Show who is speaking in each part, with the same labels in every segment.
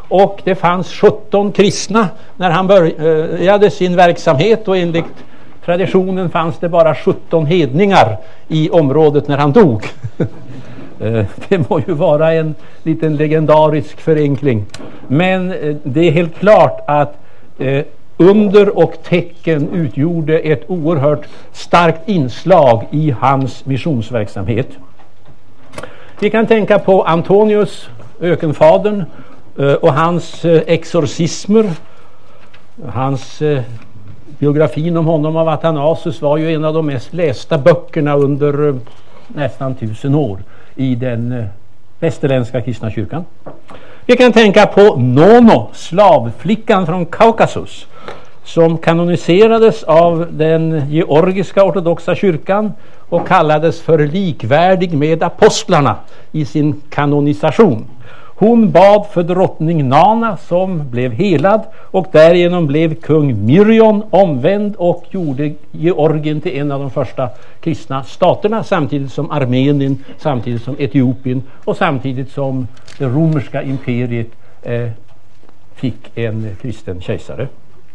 Speaker 1: och det fanns 17 kristna när han började sin verksamhet, och enligt traditionen fanns det bara 17 hedningar i området när han dog. Det må ju vara en liten legendarisk förenkling, men det är helt klart att under och tecken utgjorde ett oerhört starkt inslag i hans missionsverksamhet. Vi kan tänka på Antonius, ökenfadern, och hans exorcismer. Hans biografin om honom av Athanasius var ju en av de mest lästa böckerna under nästan 1000 år i den västerländska kristna kyrkan. Vi kan tänka på Nono, slavflickan från Kaukasus, som kanoniserades av den georgiska ortodoxa kyrkan och kallades för likvärdig med apostlarna i sin kanonisation. Hon bad för drottning Nana, som blev helad, och därigenom blev kung Myrjon omvänd och gjorde Georgien till en av de första kristna staterna, samtidigt som Armenien, samtidigt som Etiopien och samtidigt som det romerska imperiet fick en kristen kejsare.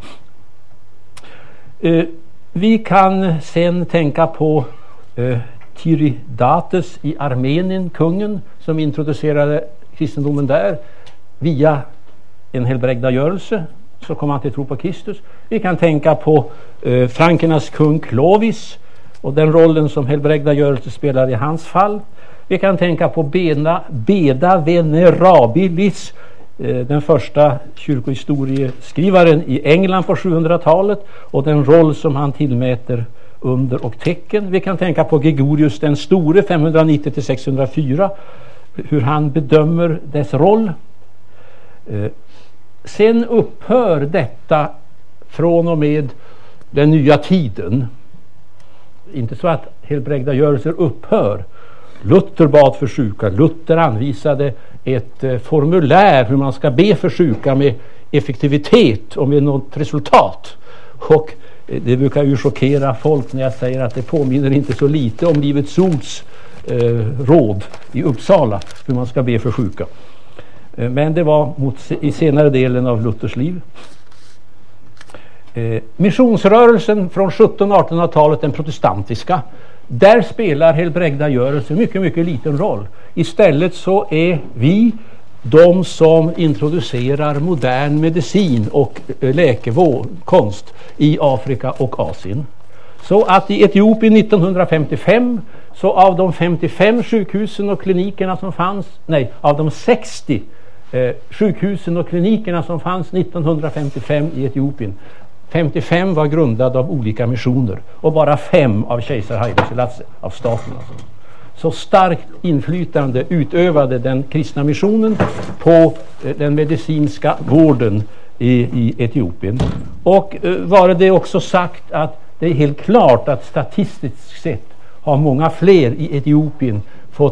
Speaker 1: Vi kan sen tänka på Tiridates i Armenien, kungen som introducerade kristendomen där via en helbrägdagörelse, så kom han till tro på Kristus. Vi kan tänka på frankernas kung Clovis och den rollen som helbrägdagörelse spelar i hans fall. Vi kan tänka på Beda Venerabilis, den första kyrkohistorieskrivaren i England på 700-talet, och den roll som han tillmäter under och tecken. Vi kan tänka på Gregorius den store 590-604, hur han bedömer dess roll. Sen upphör detta från och med den nya tiden. Inte så att helbrägdagörelser upphör. Luther bad för sjuka. Luther anvisade ett formulär hur man ska be för sjuka med effektivitet och med något resultat. Och det brukar ju chockera folk när jag säger att det påminner inte så lite om Livets Ords råd i Uppsala hur man ska be för sjuka. Men det var i senare delen av Luthers liv. Missionsrörelsen från 1700-1800-talet, den protestantiska, där spelar helbrägdagörelse mycket, mycket liten roll. Istället så är vi de som introducerar modern medicin och läkekonst i Afrika och Asien. Så att i Etiopien 1955, så av de 55 sjukhusen och klinikerna som fanns, av de 60 sjukhusen och klinikerna som fanns 1955 i Etiopien, 55 var grundade av olika missioner och bara 5 av kejsar Haile Selassie, av staten alltså. Så starkt inflytande utövade den kristna missionen på den medicinska vården i Etiopien. Och var det också sagt att det är helt klart att statistiskt sett har många fler i Etiopien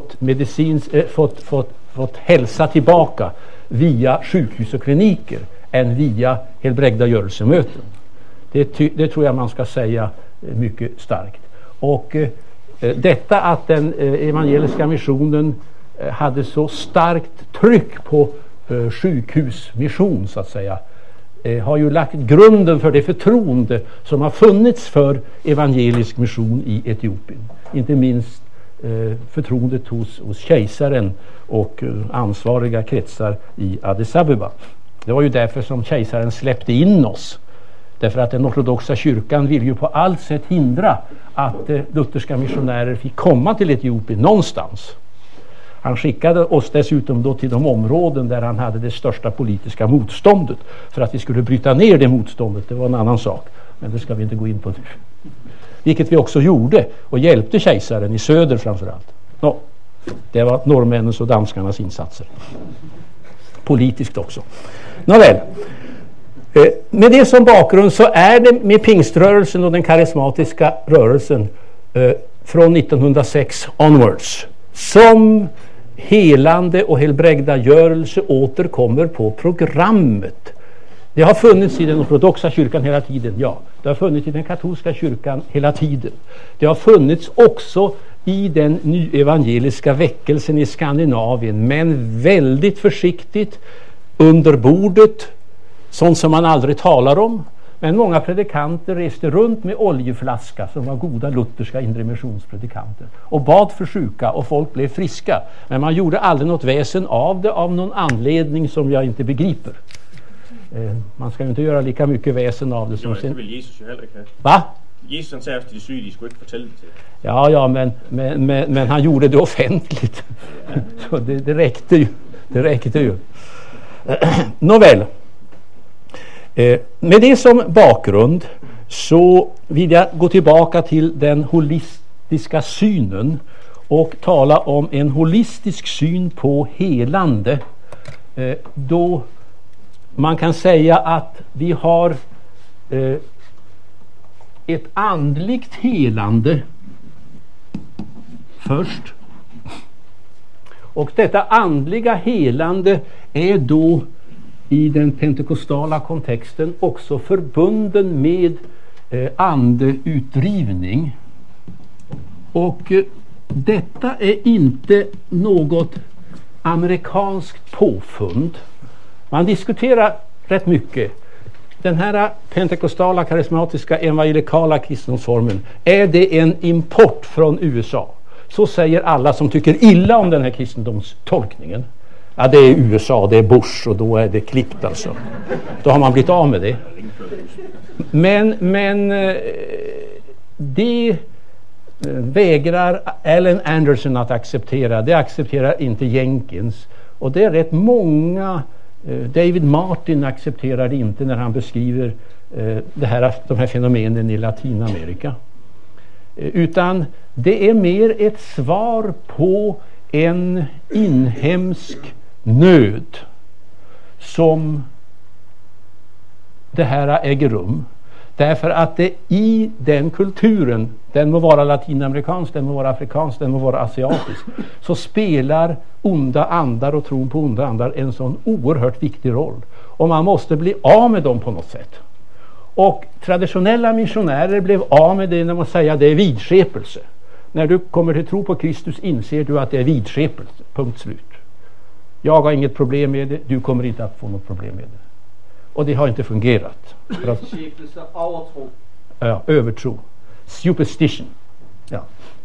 Speaker 1: fått hälsa tillbaka via sjukhus och kliniker än via helbrägdagörelsemöten. Det tror jag man ska säga mycket starkt. Och detta att den evangeliska missionen hade så starkt tryck på sjukhusmission så att säga, har ju lagt grunden för det förtroende som har funnits för evangelisk mission i Etiopien. Inte minst förtroendet hos kejsaren och ansvariga kretsar i Addis Abeba. Det var ju därför som kejsaren släppte in oss. Därför att den ortodoxa kyrkan vill ju på allt sätt hindra att lutherska missionärer fick komma till Etiopien någonstans. Han skickade oss dessutom då till de områden där han hade det största politiska motståndet för att vi skulle bryta ner det motståndet. Det var en annan sak, men det ska vi inte gå in på nu. Vilket vi också gjorde och hjälpte kejsaren i söder framförallt. Det var norrmännens och danskarnas insatser. Politiskt också. Nåväl. Med det som bakgrund så är det med pingströrelsen och den karismatiska rörelsen från 1906 onwards som helande och helbrägdagörelse återkommer på programmet. Det har funnits i den ortodoxa kyrkan hela tiden, ja. Det har funnits i den katolska kyrkan hela tiden. Det har funnits också i den nyevangeliska väckelsen i Skandinavien, men väldigt försiktigt. under bordet, sånt som man aldrig talar om. Men många predikanter reste runt med oljeflaska, som var goda lutherska inremissionpredikanter, och bad för sjuka, och folk blev friska. Men man gjorde aldrig något väsen av det, av någon anledning som jag inte begriper. Man ska ju inte göra lika mycket väsen av det som
Speaker 2: sin... Det vill Jesus ju heller inte.
Speaker 1: Va?
Speaker 2: Jesus säger till de syge, de skulle inte fortælle det till.
Speaker 1: Ja, men han gjorde det offentligt. Så det räckte ju. Det räckte ju. Nåväl. Med det som bakgrund så vill jag gå tillbaka till den holistiska synen och tala om en holistisk syn på helande. Då man kan säga att vi har ett andligt helande först. Och detta andliga helande är då i den pentekostala kontexten också förbunden med andeutdrivning. Och detta är inte något amerikanskt påfund. Man diskuterar rätt mycket. Den här pentekostala, karismatiska, evangelikala kristendomsformen, är det en import från USA? Så säger alla som tycker illa om den här kristendomstolkningen. Ja, det är USA, det är Bush, och då är det klippt alltså. Då har man blivit av med det. Men det vägrar Alan Anderson att acceptera. Det accepterar inte Jenkins. Och det är rätt många. David Martin accepterar det inte när han beskriver de här fenomenen i Latinamerika. Utan det är mer ett svar på en inhemsk nöd som det här äger rum. Därför att det i den kulturen, den må vara latinamerikansk, den må vara afrikansk, den må vara asiatisk, så spelar onda andar och tron på onda andar en sån oerhört viktig roll. Och man måste bli av med dem på något sätt. Och traditionella missionärer blev av med det när man säger att det är vidskepelse. När du kommer till tro på Kristus inser du att det är vidskepelse. Punkt slut. Jag har inget problem med det, du kommer inte att få något problem med det. Och det har inte fungerat.
Speaker 3: Vidskepelse, övertro.
Speaker 1: Ja, övertro. Superstition. Ja.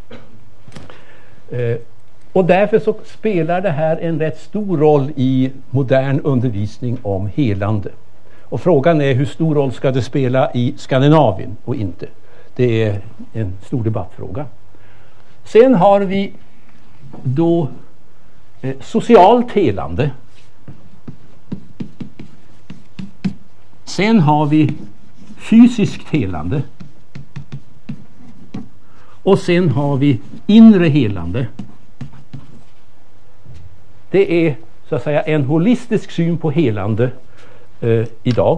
Speaker 1: Och därför så spelar det här en rätt stor roll i modern undervisning om helande. Och frågan är hur stor roll ska det spela i Skandinavien och inte. Det är en stor debattfråga. Sen har vi då socialt helande. Sen har vi fysiskt helande. Och sen har vi inre helande. Det är så att säga en holistisk syn på helande idag.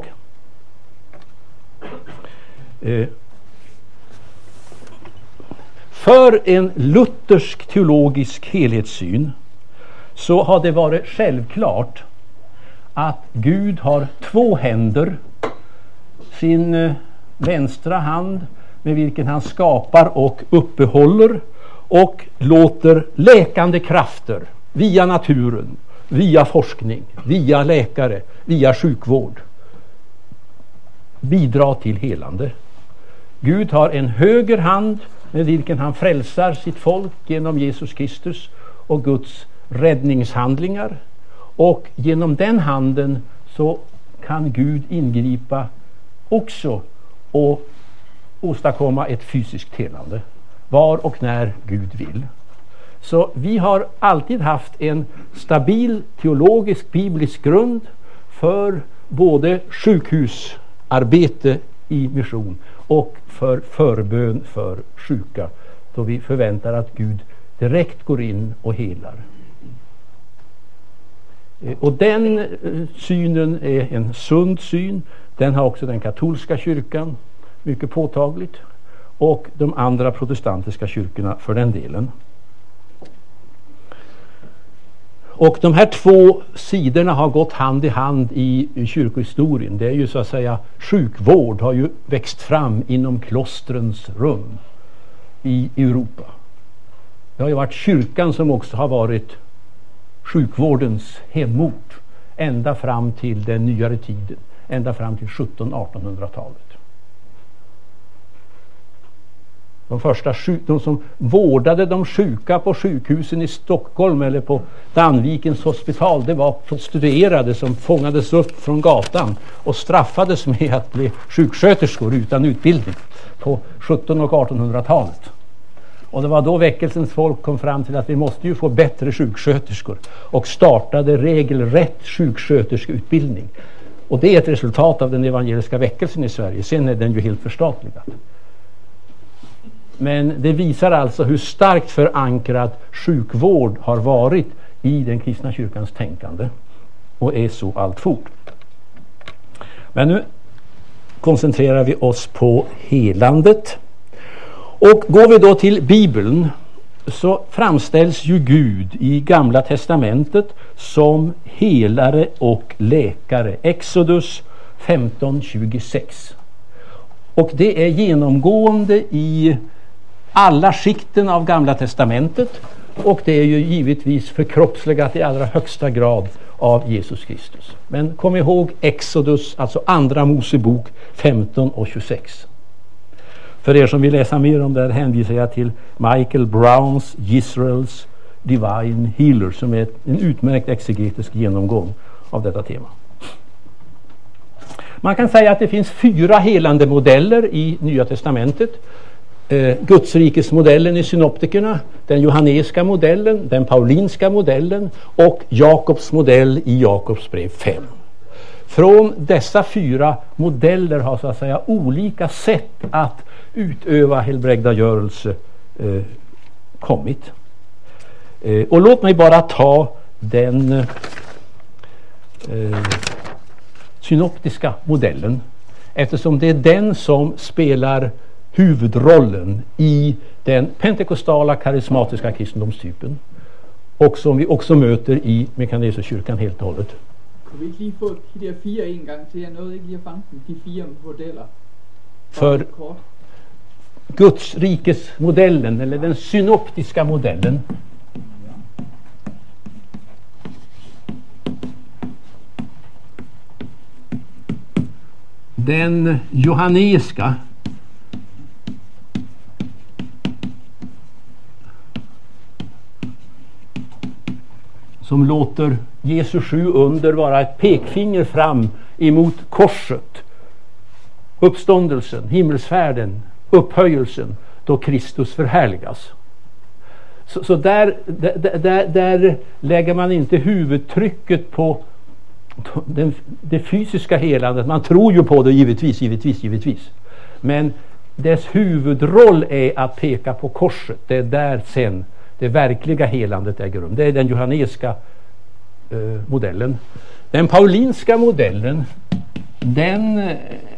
Speaker 1: För en luthersk teologisk helhetssyn så har det varit självklart att Gud har två händer. Sin vänstra hand med vilken han skapar och uppehåller och låter läkande krafter via naturen, via forskning, via läkare, via sjukvård bidra till helande. Gud har en höger hand med vilken han frälsar sitt folk genom Jesus Kristus och Guds räddningshandlingar. Och genom den handen så kan Gud ingripa också och åstadkomma ett fysiskt helande. Var och när Gud vill. Så vi har alltid haft en stabil teologisk biblisk grund för både sjukhusarbete i mission och för förbön för sjuka. Då vi förväntar att Gud direkt går in och helar. Och den synen är en sund syn. Den har också den katolska kyrkan mycket påtagligt. Och de andra protestantiska kyrkorna för den delen. Och de här två sidorna har gått hand i hand i kyrkohistorien. Det är ju så att säga, sjukvård har ju växt fram inom klostrens rum i Europa. Det har ju varit kyrkan som också har varit sjukvårdens hemort. ända fram till den nyare tiden, ända fram till 1700-1800-talet. De som vårdade de sjuka på sjukhusen i Stockholm eller på Danvikens hospital, det var prostituerade som fångades upp från gatan och straffades med att bli sjuksköterskor utan utbildning på 1700- och 1800-talet. Och det var då väckelsens folk kom fram till att vi måste ju få bättre sjuksköterskor och startade regelrätt sjuksköterskeutbildning. Och det är ett resultat av den evangeliska väckelsen i Sverige. Sen är den ju helt förstatligad. Men det visar alltså hur starkt förankrad sjukvård har varit i den kristna kyrkans tänkande och är så alltfort. Men nu koncentrerar vi oss på helandet. Och går vi då till Bibeln så framställs ju Gud i Gamla testamentet som helare och läkare. Exodus 15:26. Och det är genomgående i alla skikten av Gamla testamentet, och det är ju givetvis förkroppsligat i allra högsta grad av Jesus Kristus. Men kom ihåg Exodus, alltså andra Mosebok 15:26. För er som vill läsa mer om det här hänvisar jag till Michael Browns Israel's Divine Healer, som är en utmärkt exegetisk genomgång av detta tema. Man kan säga att det finns 4 helande modeller i Nya testamentet. Guds rikes modellen i synoptikerna, den johanneska modellen, den paulinska modellen och Jakobs modell i Jakobs brev 5. Från dessa 4 modeller har så att säga olika sätt att utöva helbrägdagörelse kommit. Och låt mig bara ta den synoptiska modellen, eftersom det är den som spelar huvudrollen i den pentekostala karismatiska kristendomstypen och som vi också möter i Mekaneserkyrkan helt och hållet.
Speaker 3: Kan vi ikke lige få de der 4 en gang til? Jeg nåede ikke lige at fange dem, de 4 modeller.
Speaker 1: För Guds rikes modellen, eller den synoptiska modellen, den johanneska, som låter Jesu 7 under vara ett pekfinger fram emot korset, uppståndelsen, himmelsfärden, upphöjelsen, då Kristus förhärligas. Så där lägger man inte huvudtrycket på det fysiska helandet. Man tror ju på det givetvis. Men dess huvudroll är att peka på korset. Det är där sen det verkliga helandet äger rum. Det är den johanneska modellen. Den paulinska modellen, den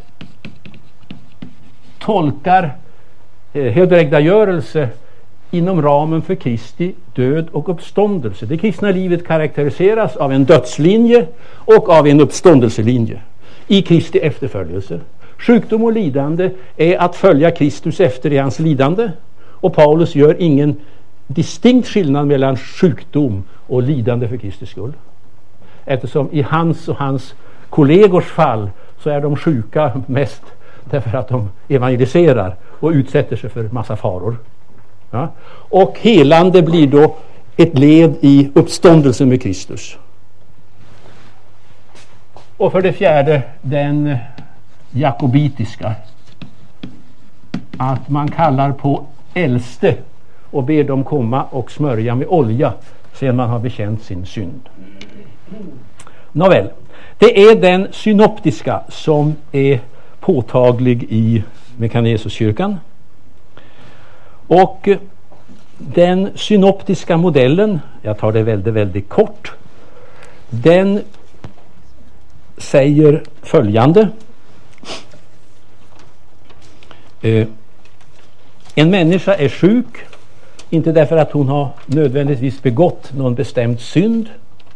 Speaker 1: tolkar helbrägdagörelse inom ramen för Kristi död och uppståndelse. Det kristna livet karaktäriseras av en dödslinje och av en uppståndelselinje i Kristi efterföljelse. Sjukdom och lidande är att följa Kristus efter i hans lidande, och Paulus gör ingen distinkt skillnad mellan sjukdom och lidande för Kristi skull. Eftersom i hans och hans kollegors fall så är de sjuka mest därför att de evangeliserar och utsätter sig för massa faror. Ja? Och helande blir då ett led i uppståndelsen med Kristus. Och för det fjärde den jakobitiska, att man kallar på äldste och ber dem komma och smörja med olja sedan man har bekänt sin synd. Nåväl, det är den synoptiska som är påtaglig i Mekaneserkyrkan. Och den synoptiska modellen, jag tar det väldigt kort, den säger följande. En människa är sjuk, inte därför att hon har nödvändigtvis begått någon bestämd synd,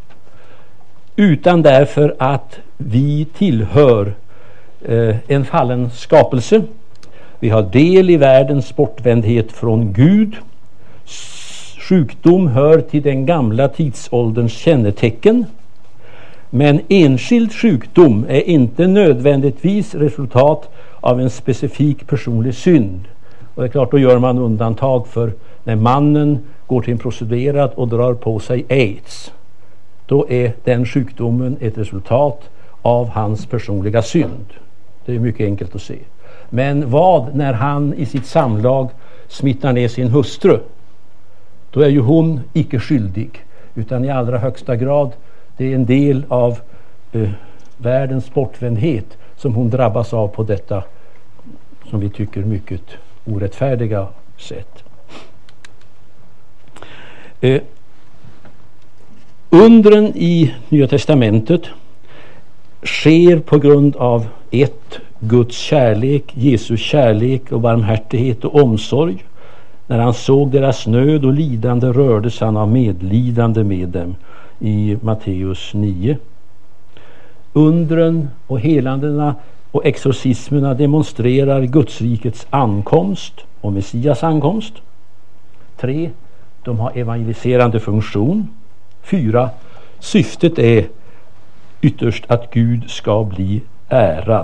Speaker 1: utan därför att vi tillhör en fallen skapelse. Vi har del i världens bortvändhet från Gud. Sjukdom hör till den gamla tidsålderns kännetecken. Men enskild sjukdom är inte nödvändigtvis resultat av en specifik personlig synd. Och det är klart, då gör man undantag för när mannen går till en prostituerad och drar på sig AIDS. Då är den sjukdomen ett resultat av hans personliga synd. Det är mycket enkelt att se. Men vad när han i sitt samlag smittar ner sin hustru? Då är ju hon icke skyldig, utan i allra högsta grad det är en del av världens bortvändhet som hon drabbas av på detta, som vi tycker, mycket orättfärdiga sätt. Undren i Nya testamentet sker på grund av Guds kärlek, Jesus kärlek och barmhärtighet och omsorg. När han såg deras nöd och lidande rördes han av medlidande med dem i Matteus 9. Undren och helandena och exorcismerna demonstrerar Gudsrikets ankomst och Messias ankomst. 3. De har evangeliserande funktion. 4. Syftet är ytterst att Gud ska bli ärad.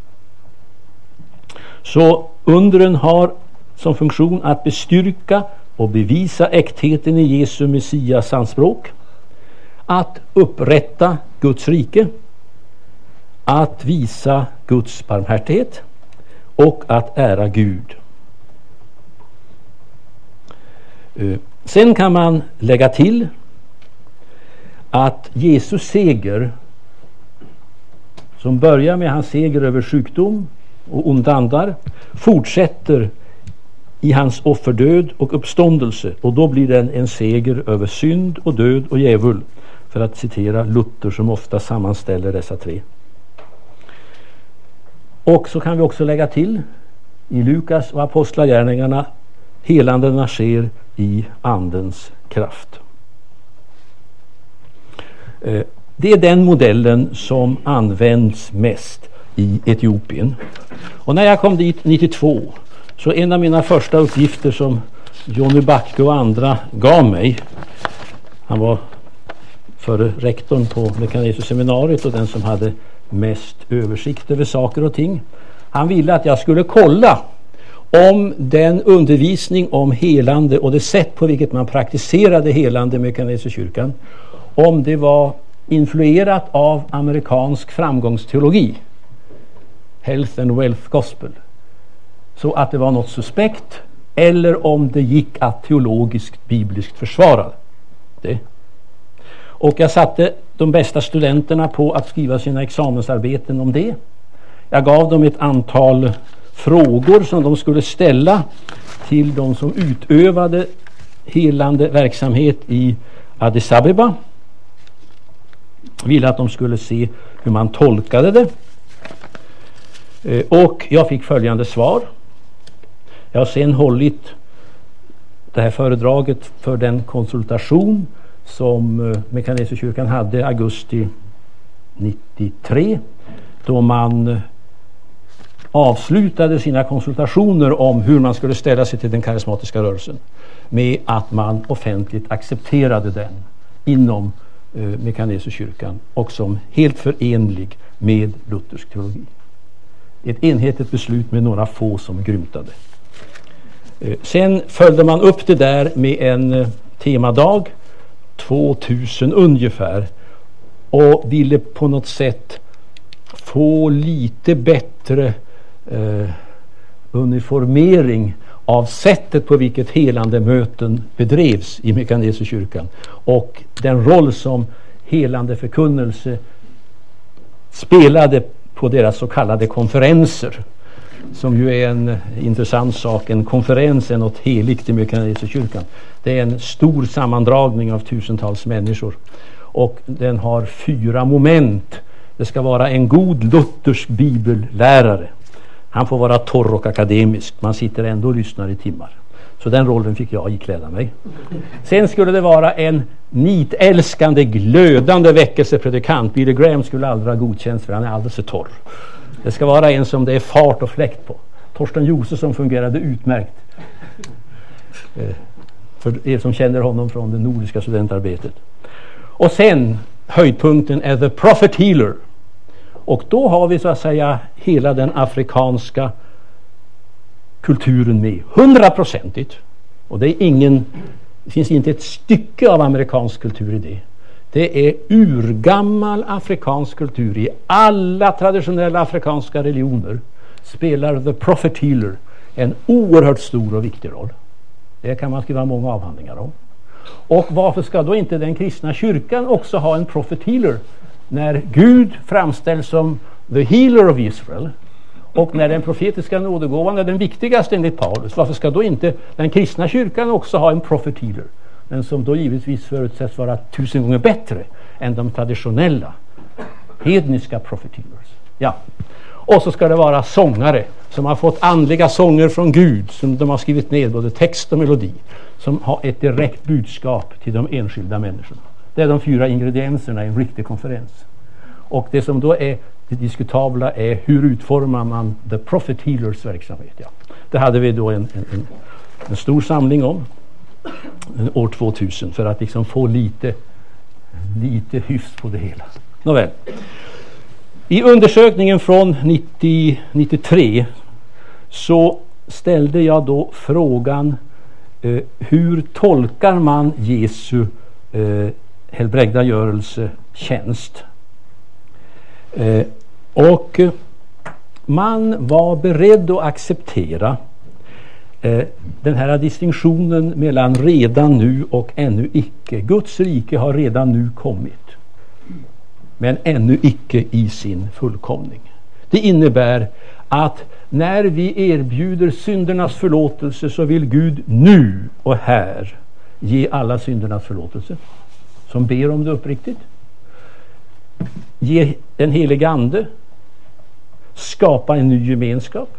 Speaker 1: Så undren har som funktion att bestyrka och bevisa äktheten i Jesu Messias anspråk, att upprätta Guds rike, att visa Guds barmhärtighet och att ära Gud. Sen kan man lägga till att Jesus seger, som börjar med hans seger över sjukdom och onda andar, fortsätter i hans offerdöd och uppståndelse, och då blir den en seger över synd och död och djävul, för att citera Luther som ofta sammanställer dessa tre. Och så kan vi också lägga till i Lukas och apostlagärningarna, helandena sker i andens kraft. Det är den modellen som används mest i Etiopien. Och när jag kom dit 92, så en av mina första uppgifter som Johnny Backe och andra gav mig, han var före rektorn på Mekaneserseminariet och den som hade mest översikt över saker och ting. Han ville att jag skulle kolla om den undervisning om helande och det sätt på vilket man praktiserade helande i Mekaneserkyrkan, om det var influerat av amerikansk framgångsteologi, Health and Wealth Gospel, så att det var något suspekt, eller om det gick att teologiskt, bibliskt försvara det. Och jag satte de bästa studenterna på att skriva sina examensarbeten om det. Jag gav dem ett antal frågor som de skulle ställa till de som utövade helande verksamhet i Addis Abeba. Jag ville att de skulle se hur man tolkade det. Och jag fick följande svar. Jag har sen hållit det här föredraget för den konsultation som Mekaneserkyrkan hade augusti 93, då man avslutade sina konsultationer om hur man skulle ställa sig till den karismatiska rörelsen med att man offentligt accepterade den inom Mekaneserkyrkan och som helt förenlig med luthersk teologi. Ett enhetligt beslut med några få som grymtade. Sen följde man upp det där med en temadag, 2000 ungefär, och ville på något sätt få lite bättre uniformering av sättet på vilket helande möten bedrevs i Mekaneserkyrkan och den roll som helande förkunnelse spelade på deras så kallade konferenser, som ju är en intressant sak. En konferens är något heligt i Mekaneserkyrkan. Det är en stor sammandragning av tusentals människor och den har 4 moment. Det ska vara en god luthersk bibellärare. Han får vara torr och akademisk. Man sitter ändå och lyssnar i timmar. Så den rollen fick jag ikläda mig. Sen skulle det vara en nitälskande, glödande väckelsepredikant. Billy Graham skulle aldrig ha godkänts för han är alldeles för torr. Det ska vara en som det är fart och fläkt på. Torsten Josefsson fungerade utmärkt. För er som känner honom från det nordiska studentarbetet. Och sen höjdpunkten är The Prophet Healer. Och då har vi så att säga hela den afrikanska kulturen med 100%. Och det finns inte ett stycke av amerikansk kultur i det. Det är urgammal afrikansk kultur. I alla traditionella afrikanska religioner spelar The Prophet Healer en oerhört stor och viktig roll. Det kan man skriva många avhandlingar om. Och varför ska då inte den kristna kyrkan också ha en Prophet Healer? När Gud framställs som the healer of Israel och när den profetiska nådegåvan är den viktigaste enligt Paulus, varför ska då inte den kristna kyrkan också ha en Prophet Healer? Men som då givetvis förutsätts vara 1000 gånger bättre än de traditionella hedniska Prophet Healers. Ja. Och så ska det vara sångare som har fått andliga sånger från Gud, som de har skrivit ner både text och melodi, som har ett direkt budskap till de enskilda människorna. Det är de 4 ingredienserna i en riktig konferens. Och det som då är det diskutabla är hur utformar man The Prophet Healers verksamhet. Ja. Det hade vi då en stor samling om år 2000 för att liksom få lite hyfs på det hela. Nåväl. I undersökningen från 93 så ställde jag då frågan hur tolkar man Jesu helbrägdagörelsetjänst? Och man var beredd att acceptera den här distinktionen mellan redan nu och ännu icke. Guds rike har redan nu kommit, men ännu icke i sin fullkomning. Det innebär att när vi erbjuder syndernas förlåtelse så vill Gud nu och här ge alla syndernas förlåtelse som ber om det uppriktigt. Ge den helige ande, skapa en ny gemenskap.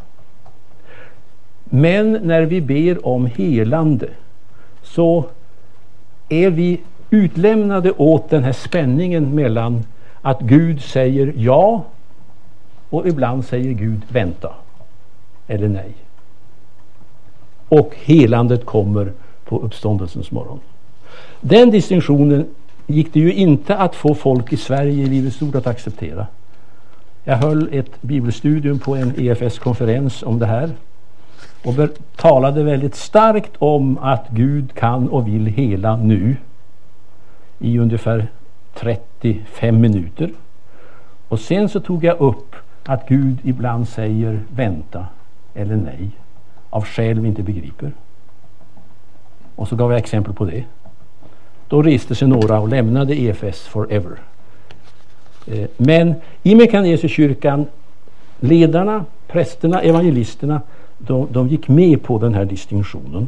Speaker 1: Men när vi ber om helande så är vi utlämnade åt den här spänningen mellan att Gud säger ja och ibland säger Gud vänta eller nej. Och helandet kommer på uppståndelsens morgon. Den distinktionen gick det ju inte att få folk i Sverige i Livets Ord att acceptera. Jag höll ett bibelstudium på en EFS-konferens om det här och talade väldigt starkt om att Gud kan och vill hela nu i ungefär 35 minuter. Och sen så tog jag upp att Gud ibland säger vänta eller nej av skäl vi inte begriper. Och så gav jag exempel på det. Då reste sig några och lämnade EFS forever. Men i Mekanesekyrkan, ledarna, prästerna, evangelisterna, de gick med på den här distinktionen.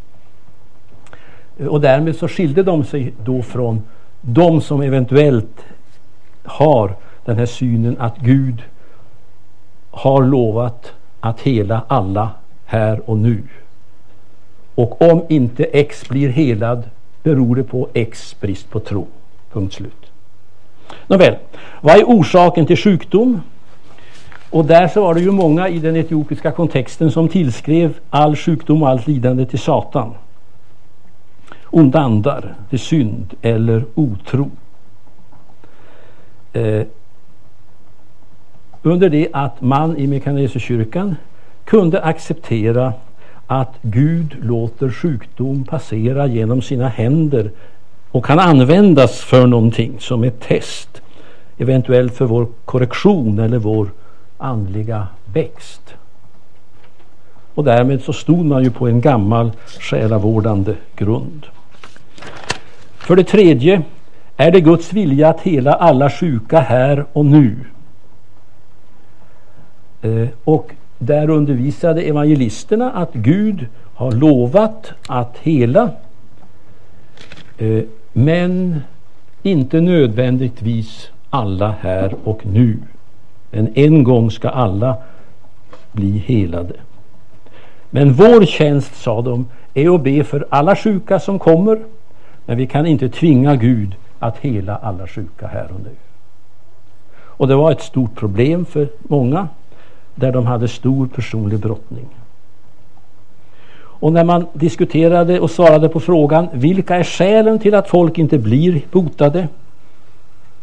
Speaker 1: Och därmed så skilde de sig då från de som eventuellt har den här synen att Gud har lovat att hela alla här och nu. Och om inte X blir helad beror det på X brist på tro. Punkt slut. Nåväl, vad är orsaken till sjukdom? Och där så var det ju många i den etiopiska kontexten som tillskrev all sjukdom och allt lidande till Satan. Onda andar, till synd eller otro. Under det att man i Mekanesekyrkan kunde acceptera att Gud låter sjukdom passera genom sina händer och kan användas för någonting som ett test, eventuellt för vår korrektion eller vår andliga växt. Och därmed så stod man ju på en gammal själavårdande grund. För det tredje är det Guds vilja att hela alla sjuka här och nu. Och där undervisade evangelisterna att Gud har lovat att hela, men inte nödvändigtvis alla här och nu. Men en gång ska alla bli helade. Men vår tjänst, sa de, är att be för alla sjuka som kommer, men vi kan inte tvinga Gud att hela alla sjuka här och nu. Och det var ett stort problem för många, där de hade stor personlig brottning. Och när man diskuterade och svarade på frågan vilka är skälen till att folk inte blir botade,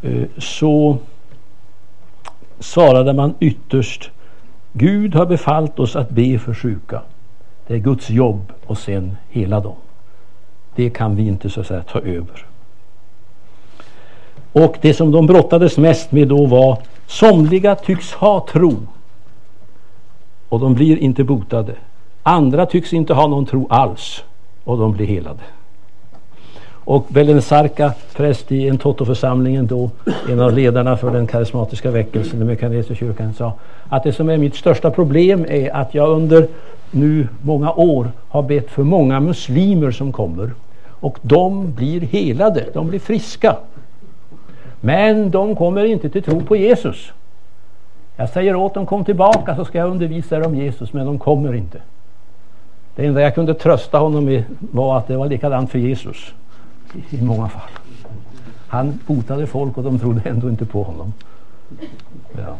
Speaker 1: så svarade man ytterst: Gud har befallt oss att be för sjuka. Det är Guds jobb och sen hela dem. Det kan vi inte så att säga ta över. Och det som de brottades mest med då var: somliga tycks ha tro och de blir inte botade. Andra tycks inte ha någon tro alls och de blir helade. Och Belensarka, präst i en Toto-församlingen då, en av ledarna för den karismatiska väckelsen i Mekaniska kyrkan, sa att det som är mitt största problem är att jag under nu många år har bett för många muslimer som kommer, och de blir helade, de blir friska, men de kommer inte till tro på Jesus. Jag säger åt dem: kom tillbaka så ska jag undervisa er om Jesus, men de kommer inte. Det enda jag kunde trösta honom med var att det var likadant för Jesus i många fall. Han botade folk och de trodde ändå inte på honom. Ja.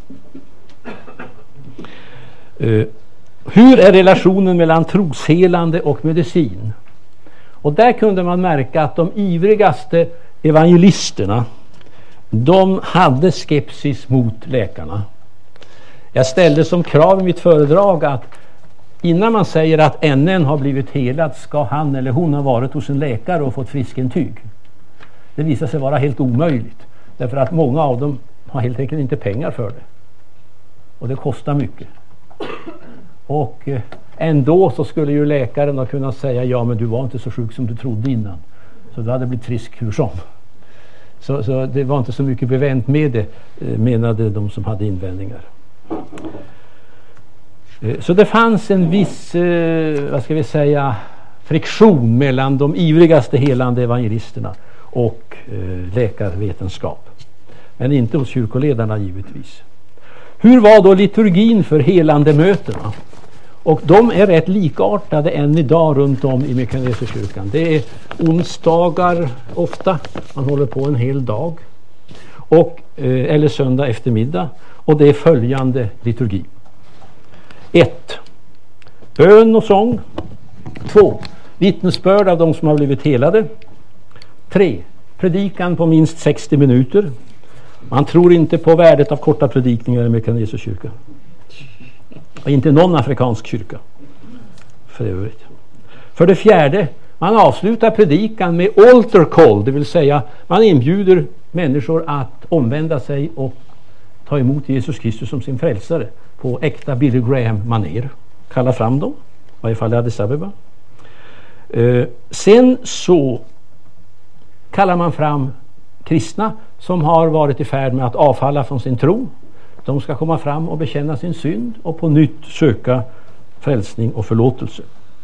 Speaker 1: Hur är relationen mellan troshelande och medicin? Och där kunde man märka att de ivrigaste evangelisterna, de hade skepsis mot läkarna. Jag ställde som krav i mitt föredrag att innan man säger att NN har blivit helad ska han eller hon ha varit hos en läkare och fått friskintyg. Det visar sig vara helt omöjligt, därför att många av dem har helt enkelt inte pengar för det. Och det kostar mycket. Och ändå så skulle ju läkaren ha kunnat säga: ja, men du var inte så sjuk som du trodde innan, så du hade blivit frisk hur som. Så det var inte så mycket bevänt med det, menade de som hade invändningar. Så det fanns en viss, vad ska vi säga, friktion mellan de ivrigaste helande evangelisterna och läkarvetenskap. Men inte hos kyrkoledarna givetvis. Hur var då liturgin för helande mötena? Och de är rätt likartade än idag runt om i Mekaniska kyrkan. Det är onsdagar ofta, man håller på en hel dag, och, eller söndag eftermiddag, och det är följande liturgi. 1. Bön och sång. 2. Vittnesbörd av de som har blivit helade. 3. Predikan på minst 60 minuter. Man tror inte på värdet av korta predikningar i Mekaniska kyrkan. Och inte någon afrikansk kyrka för övrigt. För det 4. Man avslutar predikan med altar call, det vill säga man inbjuder människor att omvända sig och ta emot Jesus Kristus som sin frälsare på äkta Billy Graham-manér. Kalla fram dem, i varje fall i Addis Abeba. Sen så kallar man fram kristna som har varit i färd med att avfalla från sin tro. De ska komma fram och bekänna sin synd och på nytt söka frälsning och förlåtelse.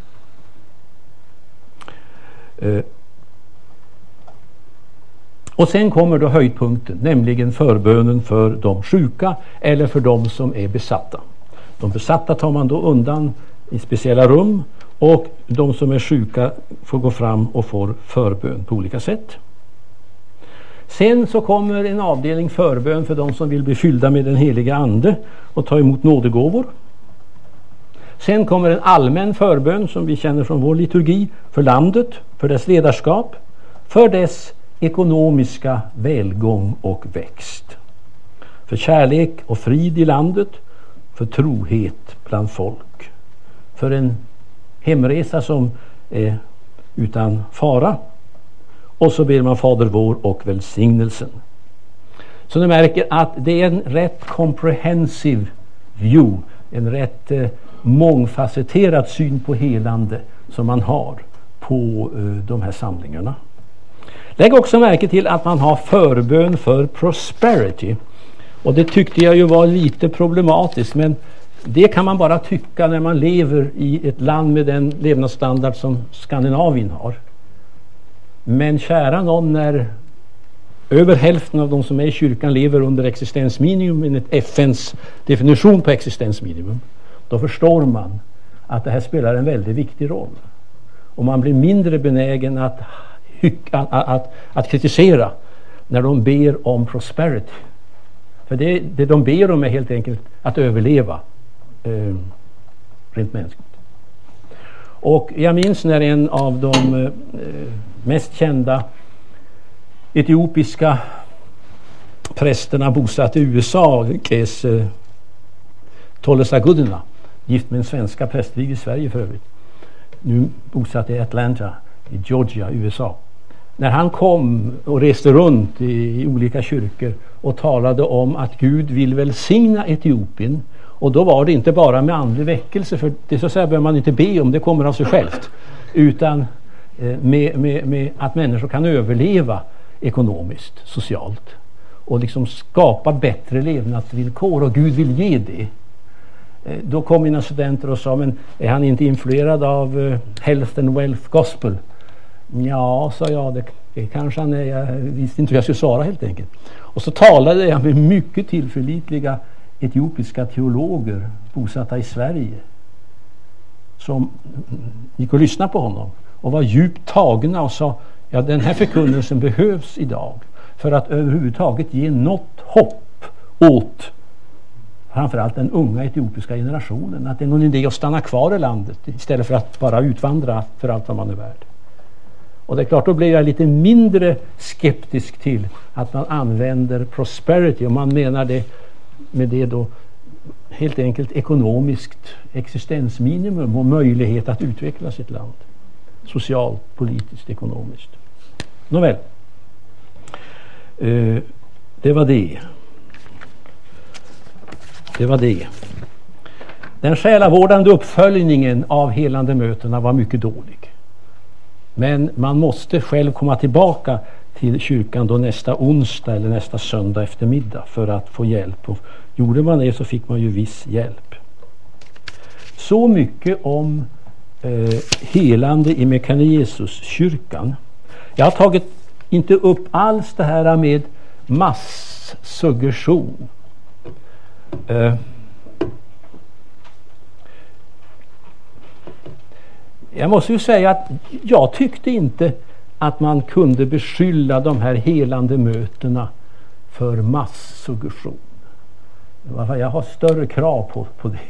Speaker 1: Och sen kommer då höjdpunkten, nämligen förbönen för de sjuka eller för de som är besatta. De besatta tar man då undan i speciella rum, och de som är sjuka får gå fram och får förbön på olika sätt. Sen så kommer en avdelning förbön för de som vill bli fyllda med den heliga ande och ta emot nådegåvor. Sen kommer en allmän förbön som vi känner från vår liturgi för landet, för dess ledarskap, för dess ekonomiska välgång och växt, för kärlek och frid i landet, för trohet bland folk, för en hemresa som är utan fara, och så ber man Fader vår och välsignelsen. Så ni märker att det är en rätt comprehensive view, en rätt mångfacetterad syn på helande som man har på de här samlingarna. Lägg också märke till att man har förbön för prosperity. Och det tyckte jag ju var lite problematiskt, men det kan man bara tycka när man lever i ett land med den levnadsstandard som Skandinavien har. Men kära någon, när över hälften av de som är i kyrkan lever under existensminimum enligt FNs definition på existensminimum, då förstår man att det här spelar en väldigt viktig roll. Och man blir mindre benägen att kritisera när de ber om prosperity. För det de ber om är helt enkelt att överleva rent mänskligt. Och jag minns när en av de mest kända etiopiska prästerna bosatt i USA, Kes Tollesagudina, gift med en svenska prästvig i Sverige för övrigt, nu bosatt i Atlanta i Georgia, USA. När han kom och reste runt i olika kyrkor och talade om att Gud vill välsigna Etiopien, och då var det inte bara med andlig väckelse, för det så att säga behöver man inte be om, det kommer av sig självt, utan med att människor kan överleva ekonomiskt, socialt och liksom skapa bättre levnadsvillkor, och Gud vill ge det. Då kom mina studenter och sa, men är han inte influerad av Health and Wealth Gospel? Ja, sa jag, det kanske han är. Jag visste inte hur jag skulle svara helt enkelt. Och så talade jag med mycket tillförlitliga etiopiska teologer bosatta i Sverige som gick och lyssnade på honom och var djupt tagna och sa, ja, den här förkunnelsen behövs idag för att överhuvudtaget ge något hopp åt framförallt den unga etiopiska generationen, att det är någon idé att stanna kvar i landet istället för att bara utvandra för allt vad man är värd. Och det är klart, då blir jag lite mindre skeptisk till att man använder prosperity, och man menar det med det då helt enkelt ekonomiskt existensminimum och möjlighet att utveckla sitt land socialt, politiskt, ekonomiskt. Nåväl, det var det. Det var det. Den själavårdande uppföljningen av helande mötena var mycket dålig. Men man måste själv komma tillbaka till kyrkan då nästa onsdag eller nästa söndag eftermiddag för att få hjälp. Och gjorde man det så fick man ju viss hjälp. Så mycket om helande i Mekane Jesus-kyrkan. Jag har tagit inte upp alls det här med massuggestion. Jag måste ju säga att jag tyckte inte att man kunde beskylla de här helande mötena för massuggestion. Jag har större krav på det.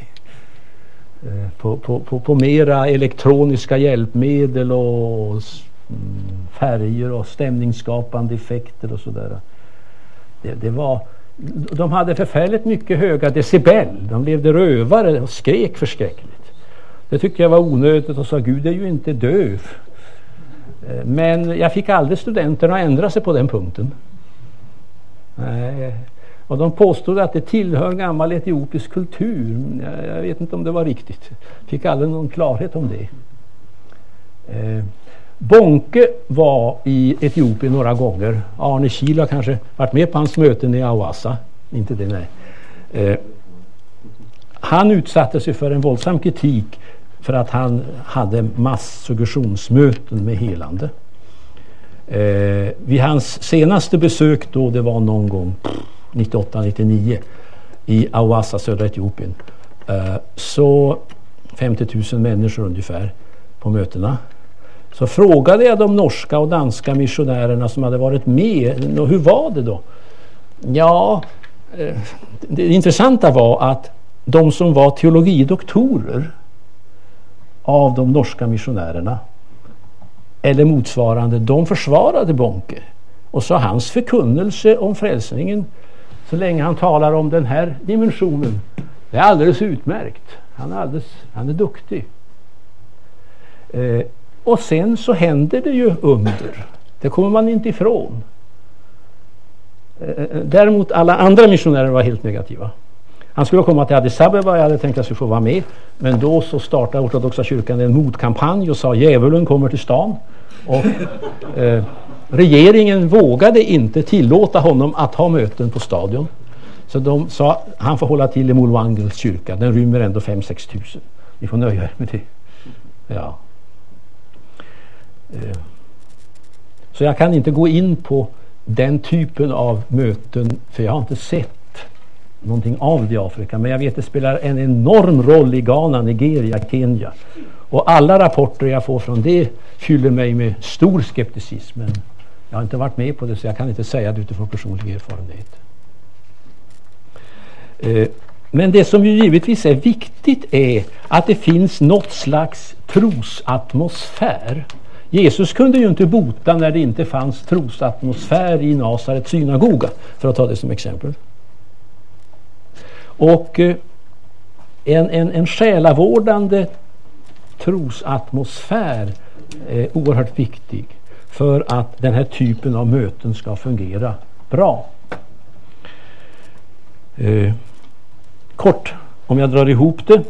Speaker 1: På mera elektroniska hjälpmedel och färger och stämningsskapande effekter och sådär. Det var, de hade förfärligt mycket höga decibel. De levde rövare och skrek förskräckligt. Det tyckte jag var onödigt och sa, Gud är ju inte döv. Men jag fick aldrig studenterna att ändra sig på den punkten. Och de påstod att det tillhör gammal etiopisk kultur. Jag vet inte om det var riktigt. Fick aldrig någon klarhet om det. Bonke var i Etiopien några gånger. Arne Kiel har kanske varit med på hans möten i Awassa. Inte det, nej. Han utsatte sig för en våldsam kritik för att han hade massuggestionsmöten med helande. Vid hans senaste besök då, det var någon gång 98-99 i Awassa, södra Etiopien, så 50 000 människor ungefär på mötena. Så frågade jag de norska och danska missionärerna som hade varit med, och hur var det då? Ja, det intressanta var att de som var teologidoktorer av de norska missionärerna eller motsvarande, de försvarade Bonke och sa hans förkunnelse om frälsningen, så länge han talar om den här dimensionen, det är alldeles utmärkt. Han är duktig. Och sen så händer det ju under. Det kommer man inte ifrån. Däremot alla andra missionärer var helt negativa. Han skulle komma till Addis Abeba, jag hade tänkt att jag skulle få vara med. Men då så startade ortodoxa kyrkan en motkampanj och sa djävulen kommer till stan. Och regeringen vågade inte tillåta honom att ha möten på stadion. Så de sa han får hålla till i Mulwangels kyrka. Den rymmer ändå 5-6 tusen. Ni får nöja er med det. Ja. Så jag kan inte gå in på den typen av möten, för jag har inte sett någonting av det i Afrika, men jag vet att det spelar en enorm roll i Ghana, Nigeria, Kenya, och alla rapporter jag får från det fyller mig med stor skepticism, men jag har inte varit med på det, så jag kan inte säga det utifrån personlig erfarenhet. Men det som ju givetvis är viktigt är att det finns något slags trosatmosfär Jesus kunde ju inte bota när det inte fanns trosatmosfär i Nasarets synagoga, för att ta det som exempel. Och en själavårdande trosatmosfär är oerhört viktig för att den här typen av möten ska fungera bra. Kort, om jag drar ihop det.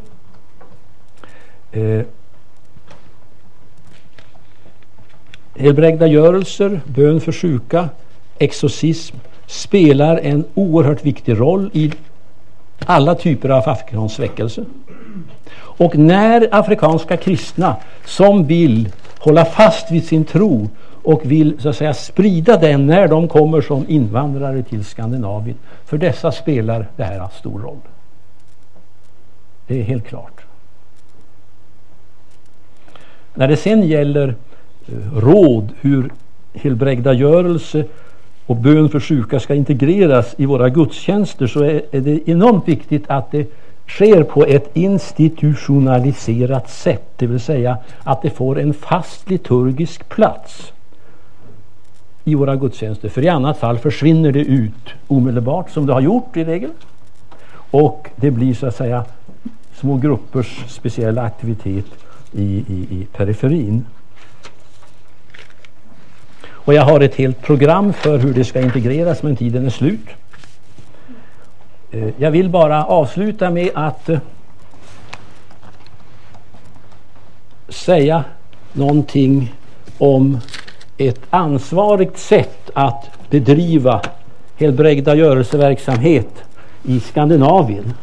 Speaker 1: Helbrägdagörelser, bön för sjuka, exorcism spelar en oerhört viktig roll i alla typer av afrikansk väckelse. Och när afrikanska kristna som vill hålla fast vid sin tro och vill så att säga sprida den när de kommer som invandrare till Skandinavien, för dessa spelar det här stor roll. Det är helt klart. När det sen gäller råd hur helbrägdagörelse och bön för sjuka ska integreras i våra gudstjänster, så är det enormt viktigt att det sker på ett institutionaliserat sätt, det vill säga att det får en fast liturgisk plats i våra gudstjänster, för i annat fall försvinner det ut omedelbart, som det har gjort i regel, och det blir så att säga små gruppers speciella aktivitet i periferin. Och jag har ett helt program för hur det ska integreras, men tiden är slut. Jag vill bara avsluta med att säga någonting om ett ansvarigt sätt att bedriva helbrägdagörelseverksamhet i Skandinavien.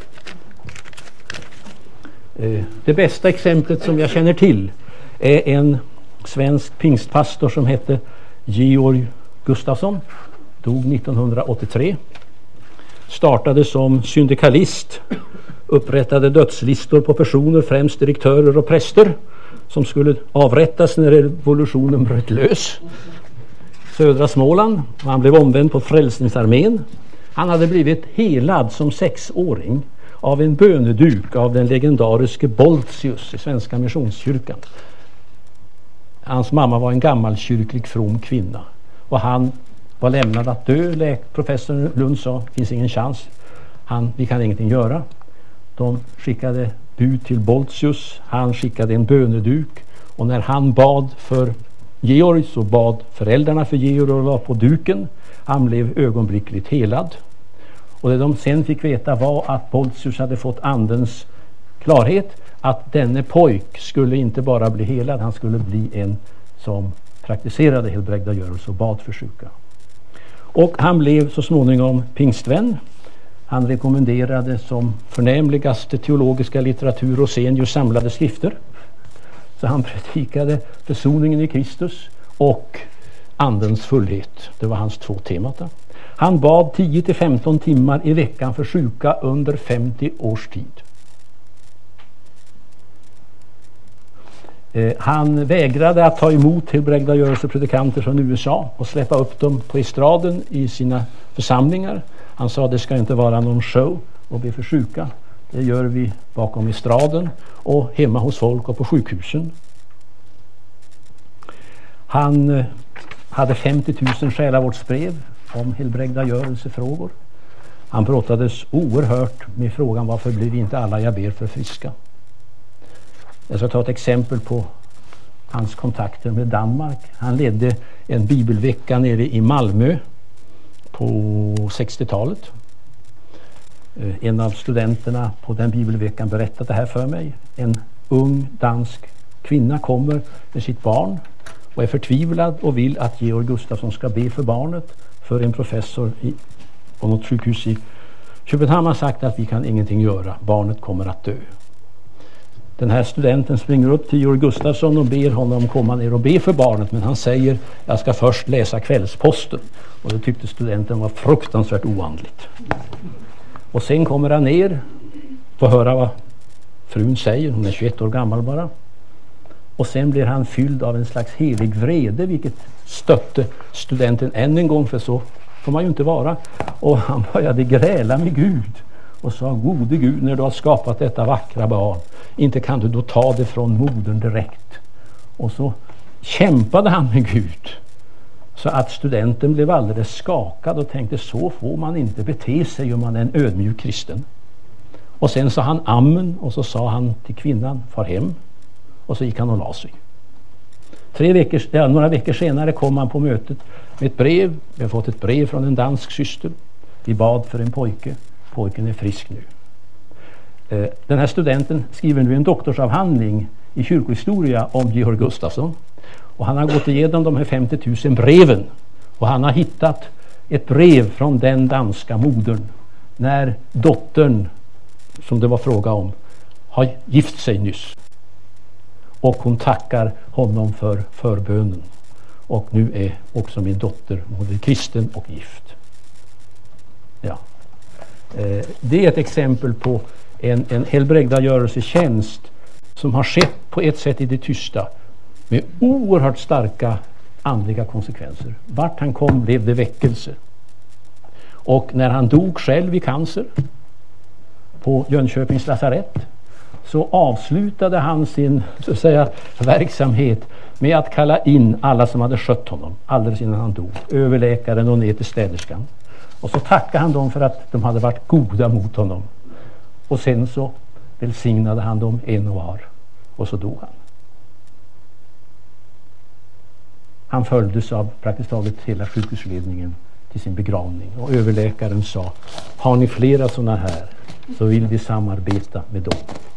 Speaker 1: Det bästa exemplet som jag känner till är en svensk pingstpastor som hette Georg Gustafsson, dog 1983. Startade som syndikalist, upprättade dödslistor på personer, främst direktörer och präster, som skulle avrättas när revolutionen bröt lös. Södra Småland, och han blev omvänd på Frälsningsarmén. Han hade blivit helad som 6-åring av en böneduk av den legendariske Boltius i Svenska Missionskyrkan. Hans mamma var en gammalkyrklig from kvinna, och han var lämnad att dö. Professor Lund sa, finns ingen chans, vi kan ingenting göra. De skickade bud till Boltius, han skickade en böneduk, och när han bad för Georg så bad föräldrarna för Georg och la på duken. Han blev ögonblickligt helad. Och det de sen fick veta var att Boltius hade fått andens klarhet att denne pojk skulle inte bara bli helad, han skulle bli en som praktiserade helbrägdagörelse och bad för sjuka. Och han blev så småningom pingstvän. Han rekommenderade som förnämligaste teologiska litteratur Rosenius samlade skrifter. Så han predikade försoningen i Kristus och andens fullhet. Det var hans 2 temata. Han bad 10-15 timmar i veckan för sjuka under 50 års tid. Han vägrade att ta emot helbrägdagörelsepredikanter från USA och släppa upp dem på estraden i sina församlingar. Han sa, det ska inte vara någon show och be för sjuka. Det gör vi bakom estraden och hemma hos folk och på sjukhusen. Han hade 50 000 själavårdsbrev om helbrägdagörelsefrågor. Han brottades oerhört med frågan, varför blir inte alla jag ber för friska? Jag ska ta ett exempel på hans kontakter med Danmark. Han ledde en bibelvecka nere i Malmö på 60-talet. En av studenterna på den bibelveckan berättade det här för mig. En ung dansk kvinna kommer med sitt barn och är förtvivlad och vill att Georg Gustafsson ska be för barnet, för en professor på något sjukhus i Köpenhamn har sagt att vi kan ingenting göra, barnet kommer att dö. Den här studenten springer upp till Georg Gustafsson och ber honom komma ner och be för barnet, men han säger, jag ska först läsa Kvällsposten. Och det tyckte studenten var fruktansvärt oandligt. Och sen kommer han ner, får höra vad frun säger, hon är 21 år gammal bara. Och sen blir han fylld av en slags helig vrede, vilket stötte studenten än en gång, för så får man ju inte vara. Och han började gräla med Gud och sa, gode Gud, när du har skapat detta vackra barn, inte kan du då ta det från modern direkt. Och så kämpade han med Gud. Så att studenten blev alldeles skakad och tänkte, så får man inte bete sig om man är en ödmjuk kristen. Och sen sa han amen, och så sa han till kvinnan, far hem. Och så gick han och la sig. Några veckor senare kom han på mötet med ett brev. Vi har fått ett brev från en dansk syster. Vi bad för en pojke. Pojken är frisk nu. Den här studenten skriver nu en doktorsavhandling i kyrkohistoria om Georg Gustafsson. Och han har gått igenom de här 50 000 breven. Och han har hittat ett brev från den danska modern när dottern, som det var fråga om, har gift sig nyss. Och hon tackar honom för förbönen. Och nu är också min dotter både kristen och gift. Ja. Det är ett exempel på en helbrägdagörelsetjänst som har skett på ett sätt i det tysta med oerhört starka andliga konsekvenser. Vart han kom blev det väckelse. Och när han dog själv i cancer på Jönköpings lasarett, så avslutade han sin, så att säga, verksamhet med att kalla in alla som hade skött honom alldeles innan han dog, överläkaren och ner till städerskan. Och så tackade han dem för att de hade varit goda mot honom. Och sen så välsignade han dem en och var. Och så dog han. Han följdes av praktiskt taget hela sjukhusledningen till sin begravning. Och överläkaren sa, har ni flera sådana här så vill vi samarbeta med dem.